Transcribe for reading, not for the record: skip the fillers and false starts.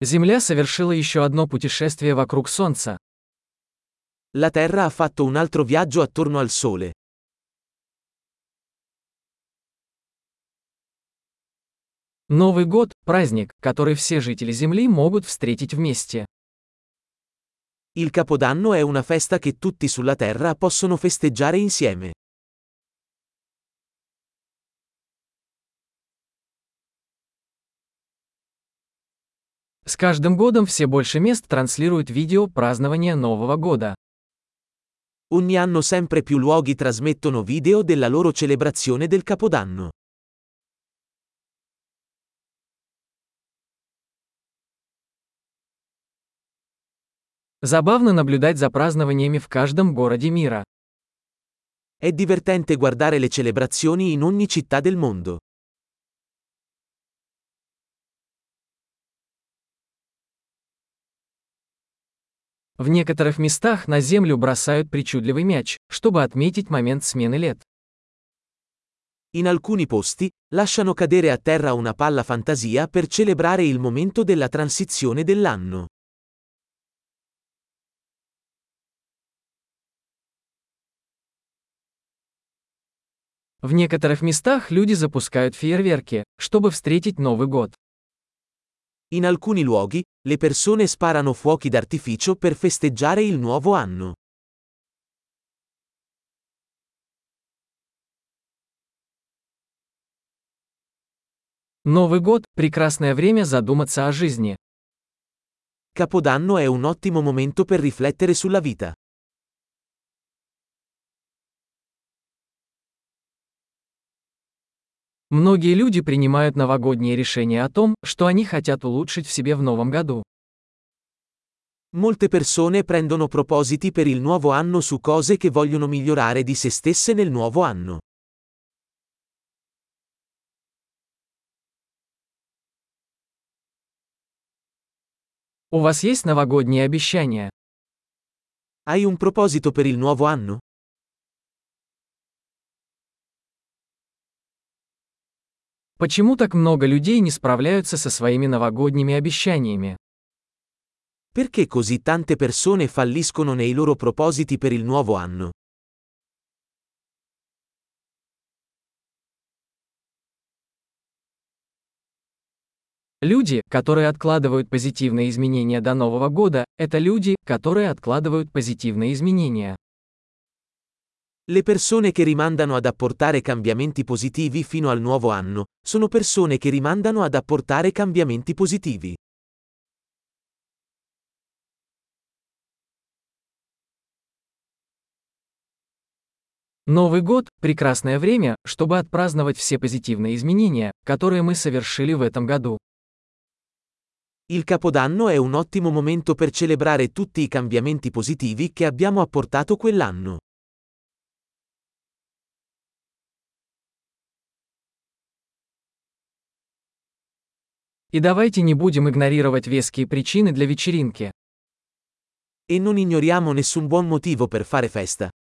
Земля совершила еще одно путешествие вокруг Солнца. La Terra ha fatto un altro viaggio attorno al Sole. Новый год– праздник, который все жители Земли могут встретить вместе. Il Capodanno è una festa che tutti sulla Terra possono festeggiare insieme. С каждым годом все больше мест транслируют видео празднования Нового года. Ogni anno sempre più luoghi trasmettono video della loro celebrazione del Capodanno. Забавно наблюдать за празднованиями в каждом городе мира. È divertente guardare le celebrazioni in ogni città del mondo. В некоторых местах на землю бросают причудливый мяч, чтобы отметить момент смены лет. In alcuni posti, lasciano cadere a terra una palla fantasia per celebrare il momento della transizione dell'anno. В некоторых местах люди запускают фейерверки, чтобы встретить Новый год. In alcuni luoghi, le persone sparano fuochi d'artificio per festeggiare il nuovo anno. Новый год– прекрасное время задуматься о жизни. Capodanno è un ottimo momento per riflettere sulla vita. Многие люди принимают новогодние решения о том, что они хотят улучшить в себе в новом году. Molte persone prendono propositi per il nuovo anno su cose che vogliono migliorare di se stesse nel nuovo anno. У вас есть новогодние обещания? Hai un proposito per il nuovo anno? Почему так много людей не справляются со своими новогодними обещаниями? Perché così tante persone falliscono nei loro propositi per il nuovo anno? Люди, которые откладывают позитивные изменения до Нового года, это люди, которые откладывают позитивные изменения. Le persone che rimandano ad apportare cambiamenti positivi fino al nuovo anno, sono persone che rimandano ad apportare cambiamenti positivi. Новый год– прекрасное время, чтобы отпраздновать все позитивные изменения, которые мы совершили в этом году. Il Capodanno è un ottimo momento per celebrare tutti i cambiamenti positivi che abbiamo apportato quell'anno. И давайте не будем игнорировать веские причины для вечеринки. E non ignoriamo nessun buon motivo per fare festa.